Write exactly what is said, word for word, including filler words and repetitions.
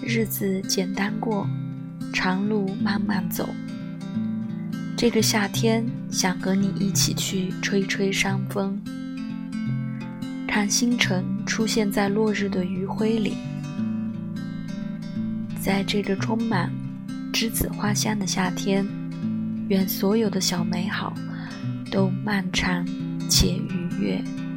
日子简单过，长路慢慢走。这个夏天，想和你一起去吹吹山风，看星辰出现在落日的余晖里。在这个充满栀子花香的夏天，愿所有的小美好都漫长且愉悦。